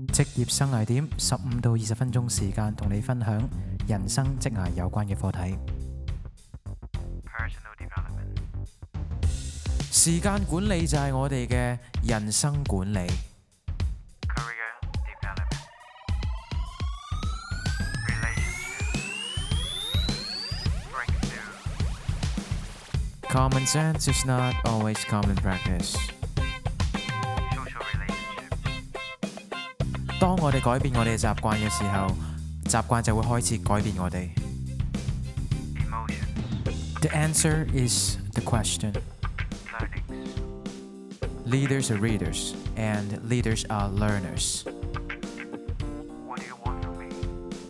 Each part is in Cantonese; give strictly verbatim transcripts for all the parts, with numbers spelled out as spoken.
職業生涯點，十五到二十分鐘時間同你分享人生職涯有關嘅課題。Personal development。時間管理就係我哋嘅人生管理。Career development。Relationship。Breakthrough。Common sense is not always common practice。當我哋改變我哋嘅習慣嘅時候，習慣就會開始改變我哋。The answer is the question. Leaders are readers, and leaders are learners. What do you want from me?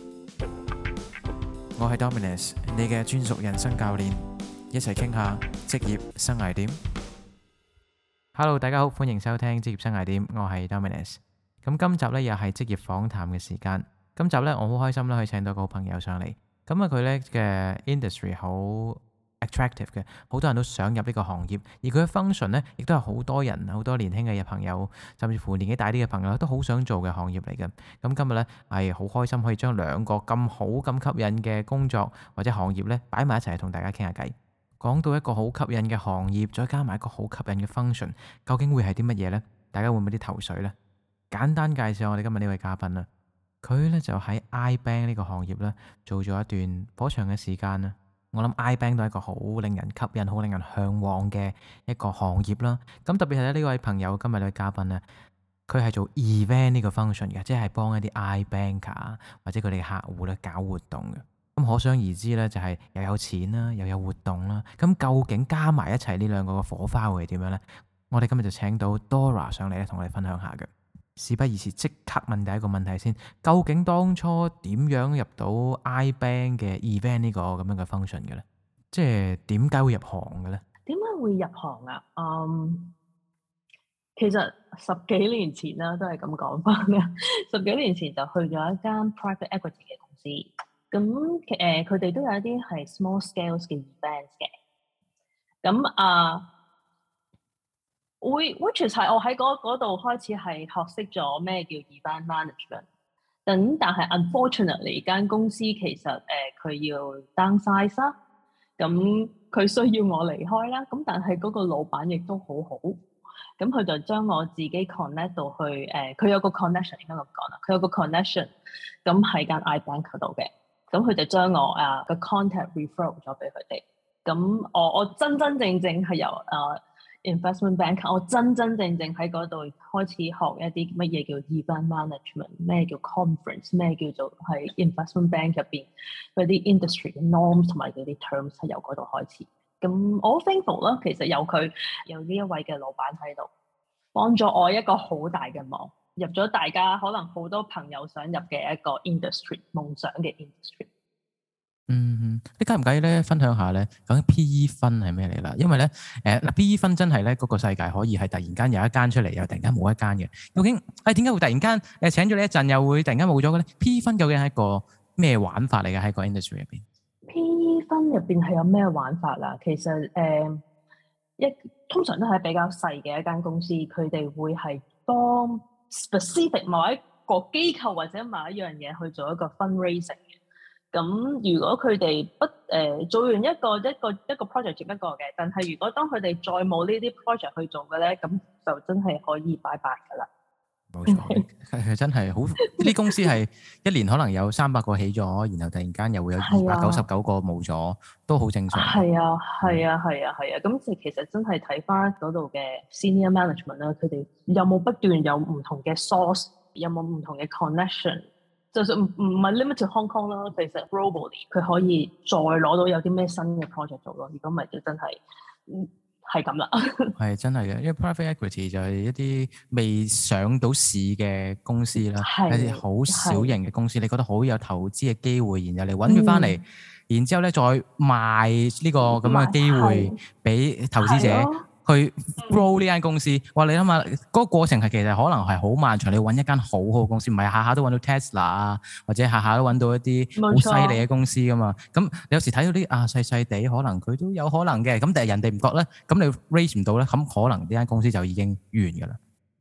我係 Dominus， 你嘅專屬人生教練，一齊傾下職業生涯點。Hello， 大家好，歡迎收聽職業生涯點，我係 Dominus。咁今集咧又係職業訪談嘅時間。今集咧我好開心啦，可以請到個好朋友上嚟。咁啊佢咧嘅 industry 好 attractive 嘅，好多人都想入呢個行業。而佢嘅 function 咧，亦都係好多人、好多年輕嘅朋友，甚至乎年紀大啲嘅朋友都好想做嘅行業嚟嘅。咁今日咧係好開心可以將兩個咁好、咁吸引嘅工作或者行業咧擺埋一齊同大家傾下偈。講到一個好吸引嘅行業，再加埋一個好吸引嘅 function， 究竟會係啲乜嘢呢？大家會唔會啲頭緒呢？簡單介紹我哋今日呢位嘉賓啦，佢咧就喺 iBank 呢個行業咧做咗一段頗長嘅時間啦。我諗 iBank 都係一個好令人吸引、好令人向往嘅一個行業啦。咁特別係呢位朋友今日呢位嘉賓咧，佢係做 event 呢個 function 嘅，即係幫一啲 iBanker 或者佢哋嘅客戶咧搞活動嘅。咁可想而知咧，就係又有錢啦，又有活動啦。咁究竟加埋一齊呢兩個嘅火花會係點樣呢？我哋今日就請到 Dora 上嚟咧，同我哋分享下嘅。事不宜遲，即刻問第一個問題先。究竟當初點樣入到 iBank 嘅 event 呢個咁樣嘅 function 嘅咧？即係點解會入行嘅咧？ 點解會入行啊？嗯，其實十幾年前啦，都係咁講翻啦。十幾年前就去咗一間 private equity 嘅公司，咁誒佢哋都有一啲係 small scales 嘅 events 嘅。咁啊。呃會 which is 係我喺嗰度開始係學識咗咩叫 event management。咁但係 unfortunately 間公司其實誒佢、呃、要 downsize 啦，咁佢需要我離開啦。咁但係嗰個老闆亦都好好，咁佢就將我自己 connect 到去誒，佢、呃、有個 connection 應該咁講啦，佢有個 connection，咁喺間 iBank 嗰度嘅，咁佢就將我啊個 contact refer 咗俾佢哋。咁我我真真正正係由啊〜、呃investment bank， 我真真正正喺嗰度開始學一啲乜嘢叫 event management， 咩叫 conference， 咩叫做係 investment bank 入邊嗰啲 industry 嘅 norms 同埋嗰啲 terms 係由嗰度開始。咁我好 thankful 啦，其實有佢有呢一位嘅老闆喺度，幫咗我一個好大嘅忙，入咗大家可能好多朋友想入嘅一個 industry， 夢想嘅 industry。 嗯，你介唔介意咧分享下咧，究竟 P E fund 係咩嚟啦？因為咧，誒嗱 P E fund 真係咧嗰個世界可以係突然間有一間出嚟，又突然間冇一間嘅。究竟誒點解會突然間誒請咗你一陣，又會突然間冇咗嘅咧 ？P E fund 究竟係一個咩玩法嚟嘅喺個 industry 入邊 ？P E fund 入邊係有咩玩法啦？其實誒、呃、一通常都係比較細嘅一間公司，佢哋會係幫 specific 某一個機構或者某一樣嘢去做一個 fundraising。咁如果佢哋不誒、呃、做完一個一個一個 project 接一個嘅，但係如果當佢哋再冇呢啲 project 去做嘅咧，咁就真係可以拜拜㗎啦。 冇錯，係真係好。呢啲公司係一年可能有三百個起咗，然後突然間又會有二百九十九個冇咗，啊、都好正常。 係啊，係啊，係啊，係啊。咁即係其實真係睇翻嗰度嘅 senior management 啦，佢哋有冇不斷有唔同嘅 source， 有冇唔同嘅 connection。就算唔唔係 limit to Hong Kong 啦，其實 globally 佢可以再攞到有啲咩新嘅 project 做咯。如果唔係就真係係咁啦。係真係嘅，因為 private equity 就係一啲未上到市嘅公司啦，一啲好小型嘅公司，你覺得好有投資嘅機會，然後你揾佢翻嚟，嗯、然之後咧再賣呢個咁樣嘅機會俾投資者。去 grow 呢間公司，哇！你諗下嗰個過程係其實可能係好漫長，你揾一間好好嘅公司，唔係下下都揾到 Tesla 啊，或者下下都揾到一啲好犀利嘅公司噶嘛。咁你有時睇到啲啊細細地，可能佢都有可能嘅，咁但係人哋唔覺咧，咁你 raise 唔到咧，咁可能呢間公司就已經完噶啦。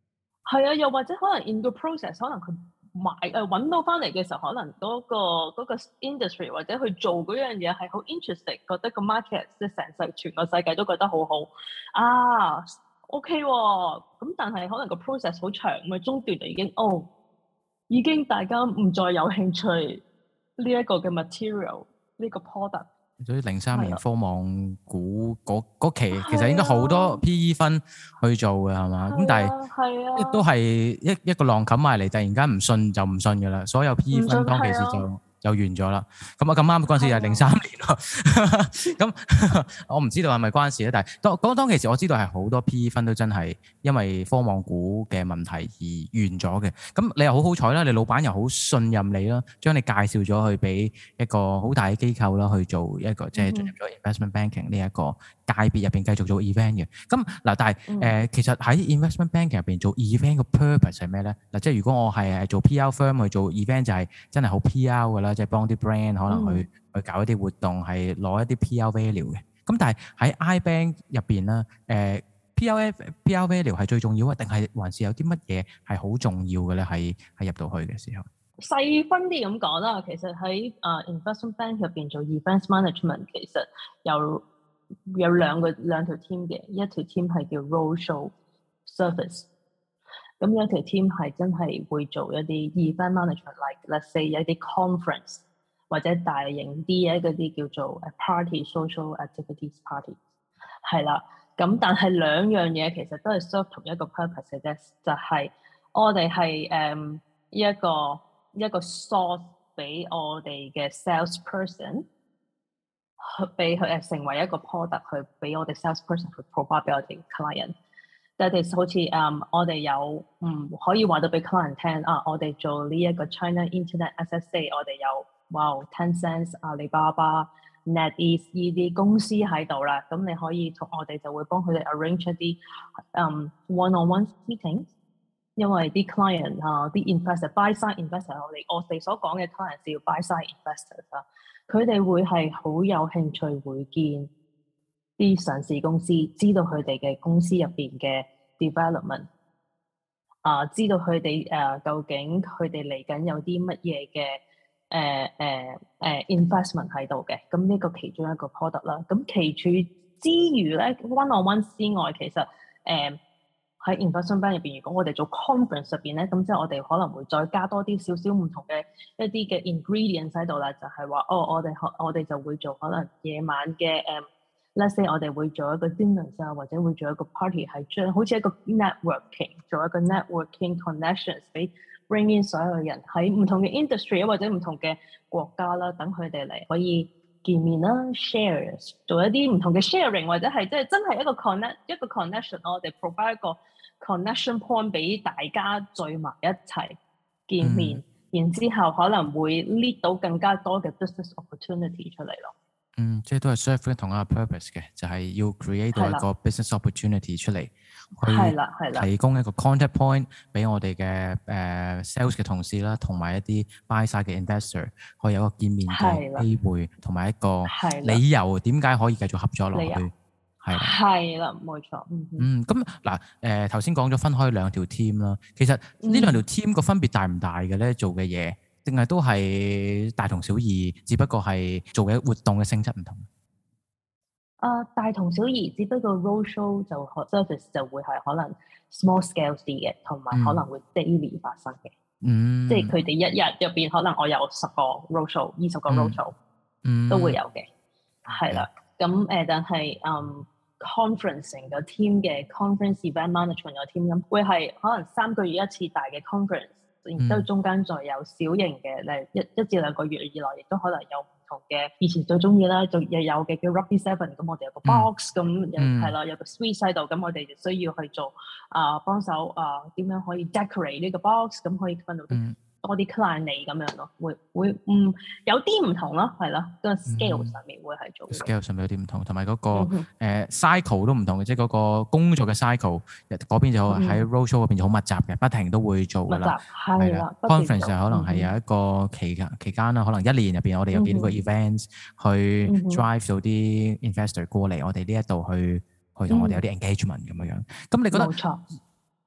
係啊，又或者可能 in 個 process，可能佢買誒揾到翻嚟嘅時候，可能嗰、個嗰、個 industry 或者去做嗰樣嘢係好 interesting，覺得個 market 即係成世全個世界都覺得好好啊 OK 喎、哦，咁但係可能個 process 好長，咪中段就已經哦，已經大家唔再有興趣呢一個嘅 material 呢個 product。 所以零三年係啊科網股嗰嗰期其實係應該好多啊 P E 分去做嘅係嘛？咁係但係啊係亦都啊， 係一一個浪冚埋嚟，突然間唔信就唔信㗎啦，所有 P E 唔信分當其係啊時就就完咗啦。咁啊咁啱嗰陣時就係零三係啊年咯。咁我唔知道係咪關事咧，但係當當當其時我知道係好多 P E 分都真係因為科網股嘅問題而完咗嘅。咁你又好好彩啦，你老闆又好信任你啦，將你介紹咗去俾一個好大嘅機構啦，去做一個即係進入咗 investment banking 呢一個界別入邊繼續做 event 嘅。咁嗱，但係誒、 嗯呃、其實喺 investment banking 入邊做 event 嘅 purpose 係咩咧？嗱，即係如果我係做 P R firm 去做 event 就係真係好 P R 㗎啦，即係幫啲 brand 可能去、 嗯去搞一啲活動，係攞一啲 P R value 嘅。咁但係喺 iBank 入邊咧，誒、呃、P R P R value 係最重要啊，定係還是有啲乜嘢係好重要嘅咧？係係入到去嘅時候。 細分啲咁講啦，其實喺啊、uh, investment bank 入邊做 events management，其實有有兩個兩條 team 嘅，一條 team 係叫 roadshow service，咁有一條 team 係真係會做一啲 event management，like let's say 有一啲 conference 或者大型啲嘅嗰啲叫做 party social activities party， 係啦。咁但係兩樣嘢其實都係 serve 同一個 purpose 嘅啫，就係、是、我哋係誒一個一個 source 俾我哋嘅 salesperson 去俾佢誒成為一個 product 去俾我哋 salesperson 去 provide 俾我哋 client。但係好似誒、um, 我哋有唔、嗯、可以話到俾 client 聽啊，我哋做呢一個 China Internet S S A， 我哋有哇 Tencent、阿里巴巴、NetEase 呢啲公司喺度啦，咁你可以同我哋就會幫佢哋 arrange 一啲誒 one-on-one meeting。因為啲 client 啊，啲 investor buy side investor，我哋我哋所講嘅 client 係要 buy side investors 啊，佢哋會係好有興趣會見啲上市公司，知道佢哋嘅公司入邊嘅 development， 啊，知道佢哋誒究竟佢哋嚟緊有啲乜嘢嘅誒誒誒 investment 喺度嘅，咁呢個其中一個 product 啦。咁其處之餘咧 ，one on one 之外，其實誒。呃喺 investment bank 入邊，如果我哋做 conference 入邊咧，咁即係我哋可能會再加多啲少少唔同嘅一啲嘅 ingredients 喺度啦，就係、是、話哦，我哋我哋就會做可能夜晚嘅誒、um,，let's say 我哋會做一個 dinner 啊，或者會做一個 party，係將好似一個 networking， 做一個 networking connections，俾 bring in 所有人喺唔同嘅 industry 或者唔同嘅國家啦，等佢哋嚟可以見面啦 ，share 做一啲唔同嘅 sharing， 或者係即係真係一個 connect 一個 connection， 我哋 provide 一個 connection point 俾大家聚埋一齊見面，嗯、然之後可能會 lead 到更加多嘅 business opportunity 出嚟咯。 嗯，即係都係 serve 同一個 purpose 嘅，就係、是、要 create 到一個 business opportunity 出嚟，去提供一個 contact point 俾我哋嘅誒 sales 嘅同事啦，同埋一啲 buy side 嘅 investor，可以有一個見面嘅機會，同埋一個理由點解可以繼續合作落去。係係啦，冇錯。 嗯，咁嗱誒頭先講咗分開兩條 team 啦，其實呢兩條 team 個分別大唔大嘅咧？做嘅嘢？定係都係大同小異，只不過係做嘅活動嘅性質唔同。 啊、uh, 大同小異，只不過 roadshow 就 service 就會係可能 small scale 啲嘅，同埋可能會 daily 發生嘅。嗯，即係佢哋一日入邊可能我有十個 roadshow、二十個 roadshow，嗯，都會有嘅。係啦、嗯，咁誒、呃，但係嗯 conference 成個 team 嘅 conference event management 個 team 咁，會係可能三個月一次大嘅 conference。然之後中間再有小型嘅，例如一一至兩個月以內，亦都可能有唔同嘅。以前最中意啦，就又有嘅叫 Rugby Seven， 咁我哋有個 box，咁係啦，有個 suite 喺度，咁我哋就需要去做啊、呃、幫手啊點樣可以 decorate 呢個 box，咁可以分到啲多啲 client 嚟咁樣咯，會會嗯有啲唔同咯，係啦，個 scale 上面會係做、嗯、 scale 上面有啲唔同，同埋嗰個、嗯呃、cycle 都唔同嘅，即係嗰個工作嘅 cycle 嗰邊就喺 roadshow 嗰邊就好密集嘅，不停都會做㗎啦，係啦 conference 可能係有一個期間、嗯、期間啦，可能一年入邊我哋有幾多個 events、嗯、去 drive 到啲 investor 過嚟我哋呢一度去去同我哋有啲 engagement 咁樣樣，咁你覺得？冇錯。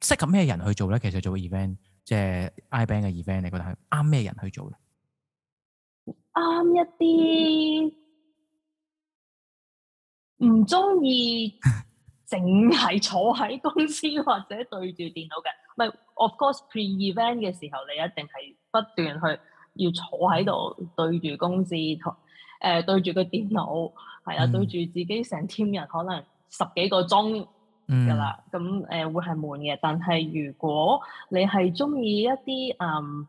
適合咩人去做咧？其實做 event 即係 iBank 嘅 event，你覺得係啱咩人去做咧？ 啱一啲唔中意淨係坐喺公司或者對住電腦嘅，唔係 of course pre-event 嘅時候，你一定係不斷去要坐喺度對住公司同誒對住個電腦，係啊， 嗯對住自己成 team 人可能十幾個鐘㗎啦，咁誒、呃、會係悶嘅。但係如果你係中意一啲嗯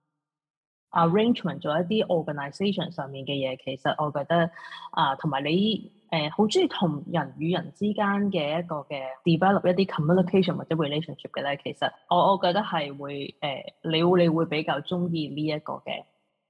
arrangement 做一啲 organisation 上面嘅嘢，其實我覺得啊，同、呃、埋你誒好中意同人與人之間嘅一個嘅 develop 一啲 communication 或者 relationship 嘅咧，其實我我覺得係會誒、呃，你會你會比較中意呢一個嘅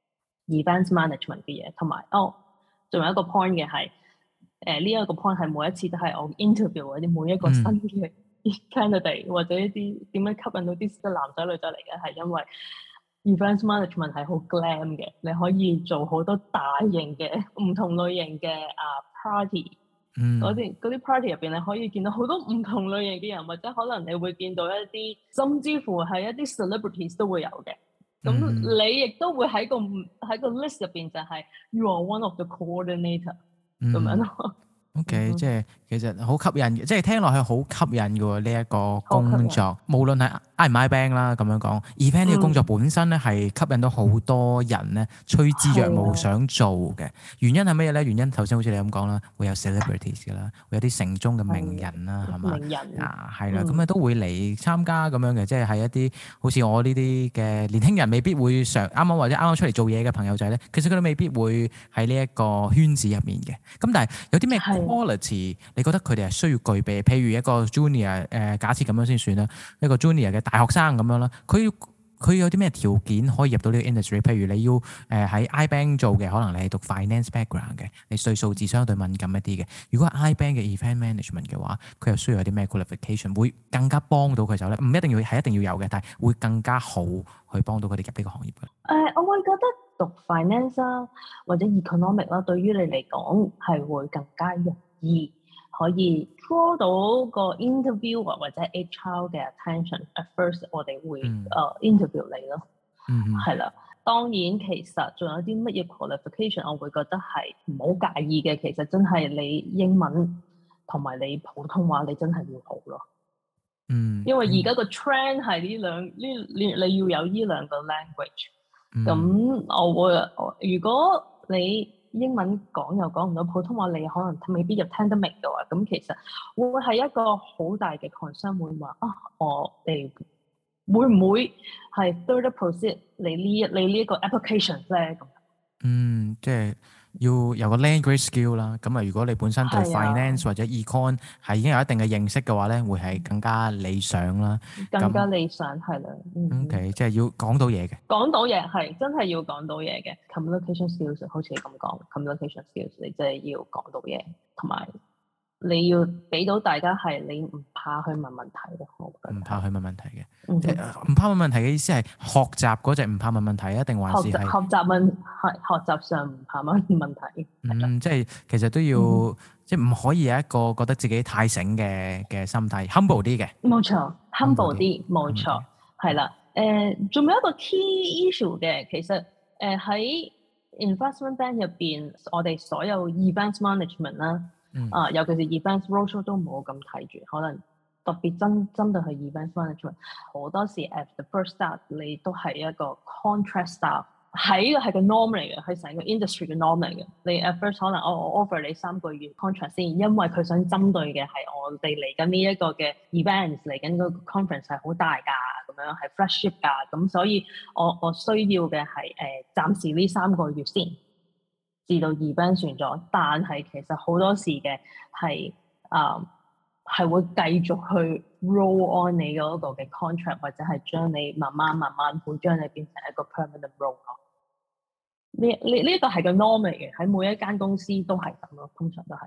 events management 嘅嘢，同埋哦，仲有一個 point 嘅係誒呢一個 point 係每一次都係我 interview 嗰啲每一個新嘅 candidate、嗯、或者一啲點樣吸引到啲男仔女仔嚟嘅，係因為 events management 係好 glam 嘅，你可以做好多大型嘅唔同類型嘅啊 party，嗰啲嗰啲 party 入邊你可以見到好多唔同類型嘅人，或者可能你會見到一啲甚至乎係一啲 celebrities 都會有嘅。咁、嗯、你亦都會喺個喺個 list 入邊就係 you are one of the coordinator 咁、嗯、樣咯。 OK，、嗯、即係其實好吸引嘅，即係聽落去好吸引嘅喎呢一個工作，無論係 I 唔 iBank 啦咁樣講 event 呢個工作本身咧係吸引到好多人咧趨之若鶩想做嘅。原因係咩咧？原因頭先好似你咁講啦，會有 celebrities 嘅啦，會有啲城中嘅名人啦，係嘛？ 名人啊，係啦，咁啊都會嚟參加咁樣嘅，即係係一啲好似我呢啲嘅年輕人未必會上啱啱或者啱啱出嚟做嘢嘅朋友仔咧，其實佢哋未必會喺呢一個圈子入面嘅。咁但係有啲咩 quality 你覺得佢哋係需要具備？譬如一個 junior 誒、呃，假設咁樣先算啦，一個 junior 嘅大學生咁樣啦，佢要佢有啲咩條件可以入到呢個 industry？ 譬如你要誒喺、呃、iBank 做嘅，可能你係讀 finance background 嘅，你對數字相對敏感一啲嘅。如果係 iBank 嘅 event management 嘅話，佢又需要有啲咩 qualification 會更加幫到佢手咧？唔一定要係一定要有嘅，但係會更加好去幫到佢哋入呢個行業嘅。誒、 呃，我會覺得讀 finance 啦或者 economic 啦，對於你嚟講係會更加容易可以 draw 到個 interviewer 或者 H R 嘅 attention。At first 我哋會誒、嗯 uh, interview 你咯，係啦、嗯。當然其實仲有啲乜嘢 qualification，我會覺得係唔好介意嘅。其實真係你英文同埋你普通話，你真係要好咯。嗯，因為而家個 trend 係呢兩呢你你要有呢兩個 language。咁、嗯、我會如果你英文講又講唔到，普通話你可能未必又聽得明嘅話，咁其實會係一個好大嘅 concern，會話啊，我哋會唔會係 further proceed 你呢一你呢一個 application 咧？咁嗯，即係要有個 language skill 啦。咁啊，如果你本身對 finance 或者 econ 係已經有一定嘅認識嘅話咧，會係更加理想啦。 更加理想係啦。 嗯、OK，即係要講到嘢嘅。 講到嘢係真係要講到嘢嘅 communication skills，好似你咁講 communication skills，你真係要講到嘢，同埋你要俾到大家係你唔怕去問問題咯。我覺得唔怕去問問題嘅，唔、嗯、怕問問題嘅意思係學習嗰隻唔怕問問題啊，定還是係學習問係學習上唔怕問問題？ 嗯，即係其實都要、嗯、即係唔可以有一個覺得自己太醒嘅嘅心態 ，humble 啲嘅。 冇錯 ，humble 啲，冇錯，係啦。誒，仲、呃、有一個 key issue 嘅，其實誒喺、呃、investment bank 入邊，我哋所有 events management 啦、嗯，啊，尤其是 events roadshow 都冇咁睇住，可能特別針針對係 events management，好多時 at the first start 你都係一個 contract staff， 喺個係個 norm 嚟嘅，係成個 industry 嘅 norm 嚟嘅。你 at first 可能我我 offer 你三個月 contract 先，因為佢想針對嘅係我哋嚟緊呢一個嘅 events， 嚟緊個 conference 係好大㗎。咁樣係 flagship 㗎，咁所以我我需要嘅係誒暫時呢三個月先，至到 event 完咗。但係其實好多時嘅係啊係會繼續去 roll on 你嗰個嘅 contract， 或者係將你慢慢慢慢會將你變成一個 permanent role 咯。呢呢呢個係個 norm 嚟嘅，喺每一間公司都係咁咯，通常都係。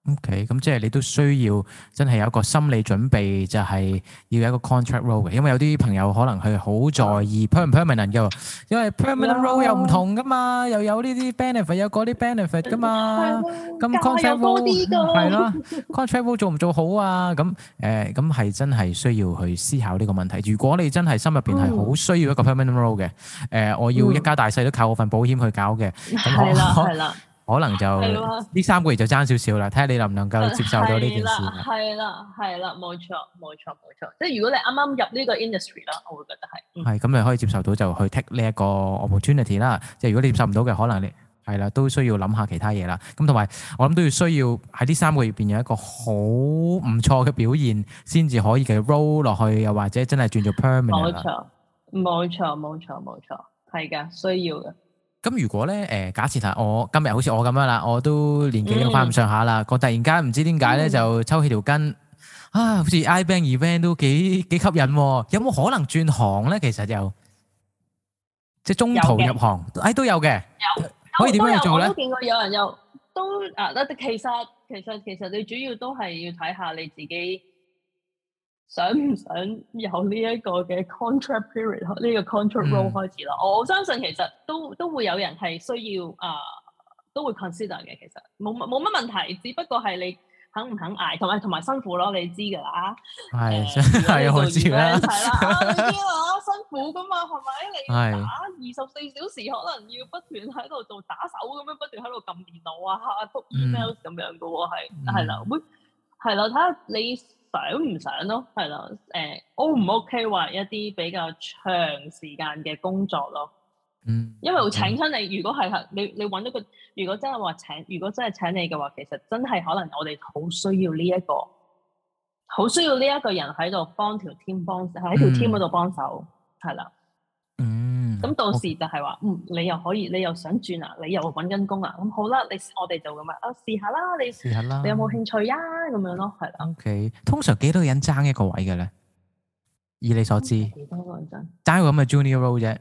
OK，咁即係你都需要真係有一個心理準備，就係要有一個 contract role 嘅，因為有啲朋友可能佢好在意 perm 唔 permanent 嘅，因為 permanent role 又唔同噶嘛，又有呢啲 benefit，有嗰啲 benefit 噶嘛，咁 contract role 係咯，contract role 做唔做好啊？咁誒咁係真係需要去思考呢個問題。如果你真係心入邊係好需要一個 permanent role 嘅，誒我要一家大細都靠我份保險去搞嘅， 係啦係啦。 可能就呢三個月就爭少少啦，睇下你能唔能夠接受到呢件事。 係啦，係啦，冇錯，冇錯，冇錯。即係如果你啱啱入呢個 industry 啦，我會覺得係。係咁，你可以接受到就去 take 呢一個 opportunity 啦。即係如果你接受唔到嘅，可能你係啦，都需要諗下其他嘢啦。咁同埋我諗都要需要喺呢三個月入邊有一個好唔錯嘅表現，先至可以嘅 roll 落去，又或者真係轉做 permanent 啦。 冇錯，冇錯，冇錯，冇錯，係㗎，需要嘅。 咁如果咧，誒假設下我今日好似我咁樣啦，我都年紀都翻咁上下啦，我突然間唔知點解咧就抽起條筋，啊，好似 iBank event 都幾幾吸引喎，有冇可能轉行咧？其實又即係中途入行，誒都有嘅， 有可以點樣做咧？ 我都見過有人又都啊，其實其實其實你主要都係要睇下你自己想唔想由呢一個嘅 contract period 呢個 contract role 開始啦、嗯？我相信其實都都會有人係需要啊、呃，都會 consider 嘅。其實冇冇乜問題，只不過係你肯唔肯捱，同埋同埋辛苦咯。你知㗎啦， 係係、呃、我知啦， 係啦，你知啦，辛苦㗎嘛，係咪？你打二十四小時，可能要不斷喺度做打手咁樣，不斷喺度撳電腦啊、覆 email 咁樣㗎喎，係係啦，會係啦，睇下你想唔想咯，係啦，誒 O 唔 OK 話一啲比較長時間嘅工作咯，嗯，因為會請親你。如果係你你揾到個，如果真係話請，如果真係請你嘅話，其實真係可能我哋好需要呢、這、一個，好需要呢一個人喺度幫條 team 幫喺條 team 嗰度幫手，係啦，嗯。咁到時就係話，嗯，你又可以，你又想轉啊，你又揾緊工啊，咁好啦，你我哋就咁啊，啊試下啦，你試下啦，你有冇興趣啊？咁樣咯，係啦。OK，通常幾多個人爭一個位嘅咧？以你所知，幾多個人爭？爭一個咁嘅 junior role 啫，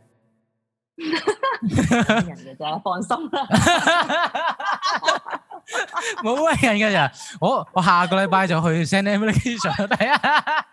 人嘅啫，放心啦，冇乜人嘅咋，我我下個禮拜就去 send application 睇下。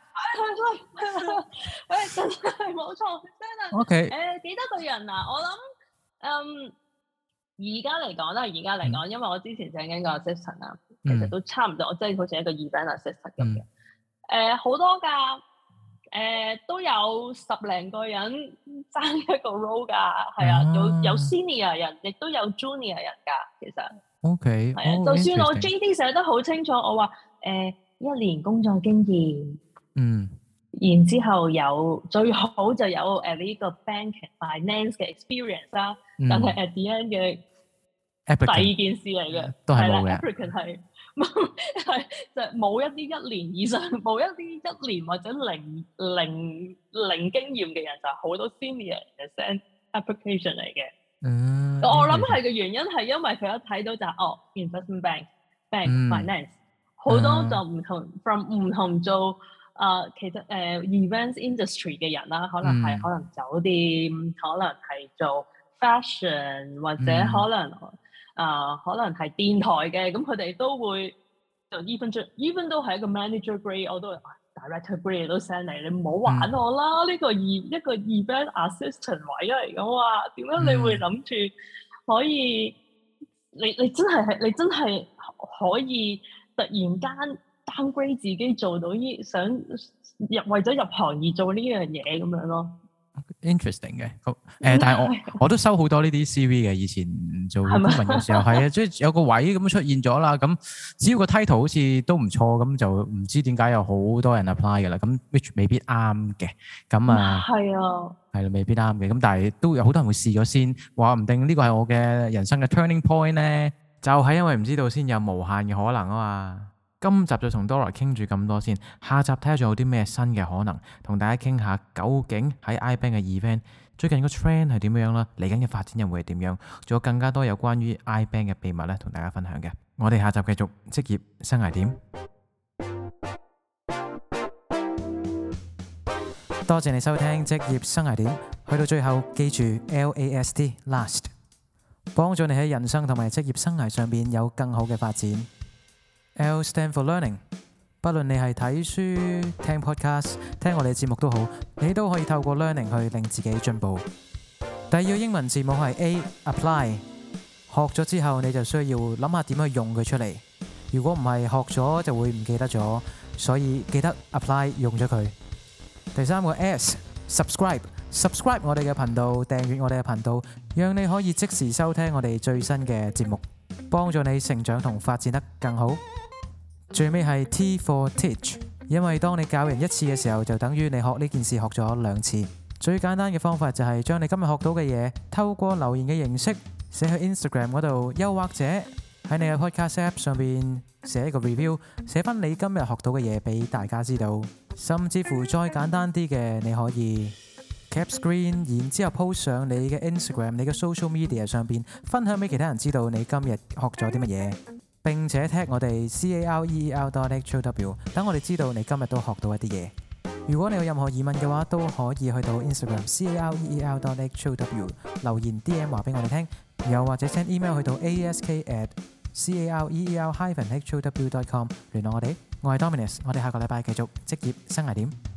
誒，真係冇錯，真係。O K，誒，幾多個人啊？我諗，嗯，而家嚟講啦，而家嚟講，因為我之前請緊個 assistant 啊，其實都差唔多，我即係好似一個 event assistant 咁嘅。誒，好多噶，誒，都有十零個人爭一個 role 噶，係啊，有有 senior 人，亦都有 junior 人噶，其實。O K，係啊，就算我 J D 寫得好清楚，我話誒一年工作經驗。嗯，然之後有最好就有誒呢個 bank finance 嘅 experience 啦、嗯，但係 at the end 嘅第二件事嚟嘅，都係冇嘅。applicant 係係就冇一啲一年以上，冇一啲一年或者零零零經驗嘅人，就好多 senior 嘅 send application 嚟嘅。嗯，我諗係嘅原因係因為佢一睇到就係、哦 investment bank bank、嗯、finance 好多就唔同、嗯、from 唔同做。啊、呃，其實誒、呃、events industry 嘅人啦，可能係、嗯、可能酒店，可能係做 fashion，或者可能啊、嗯呃，可能係電台嘅，咁佢哋都會就 even even 都係一個 manager grade，我都、啊、director grade 都 send 嚟，你唔好玩我啦！呢、嗯、個 e 一個 event assistant 位嚟嘅話，點解你會諗住可以？嗯、你你真係係你真係可以突然間 downgrade 自己做到呢，想入為咗入行而做呢樣嘢咁樣咯。Interesting 嘅，誒、呃，但係我我都收好多呢啲 C V 嘅，以前做公民嘅時候係啊，即係有個位咁出現咗啦，咁只要個 title 好似都唔錯，咁就唔知點解有好多人 apply 嘅啦，咁 which 未必啱嘅，咁啊係啊，係啦，未必啱嘅，咁但係都有好多人會試咗先，話唔定呢個係我嘅人生嘅 turning point 咧，就係因為唔知道先有無限嘅可能啊嘛。今集就同 Dora 傾住咁多先，下集睇下仲有啲咩新嘅可能，同大家傾下究竟喺 iBank 嘅 event 最近個 trend 係點樣啦，嚟緊嘅發展又會係點樣，仲有更加多有關於 iBank 嘅秘密咧，同大家分享嘅。我哋下集繼續職業生涯點。多謝你收聽職業生涯點，去到最後記住 L A S T last， 幫助你喺人生同埋職業生涯上邊有更好嘅發展。 L stand for learning。不論你係睇書、聽 podcast、聽我哋嘅節目都好，你都可以透過 learning 去令自己進步。第二個英文字母係 A apply。學咗之後你就需要諗下點去用佢出嚟。如果唔係學咗就會唔記得咗，所以記得 apply 用咗佢。第三個 S subscribe。subscribe 我哋嘅頻道，訂閱我哋嘅頻道，讓你可以即時收聽我哋最新嘅節目，幫助你成長同發展得更好。最尾係 T for teach， 因為當你教人一次嘅時候，就等於你學呢件事學咗兩次。最簡單嘅方法就係將你今日學到嘅嘢透過留言嘅形式寫去 Instagram 嗰度，又或者喺你嘅 podcast app 上邊寫一個 review， 寫翻你今日學到嘅嘢俾大家知道。甚至乎再簡單啲嘅，你可以cap screen， 然之後 post 上你嘅 Instagram、你嘅 social media 上邊，分享俾其他人知道你今日學咗啲乜嘢，並且 tag 我哋 career dot how， 等我哋知道你今日都學到一啲嘢。如果你有任何疑問嘅話，都可以去到 Instagram career dot how 留言 D M 話俾我哋聽，又或者 send email 去到 ask at career dash how dot com 聯絡我哋。我係 Dominus， 我哋下個禮拜繼續職業生涯點。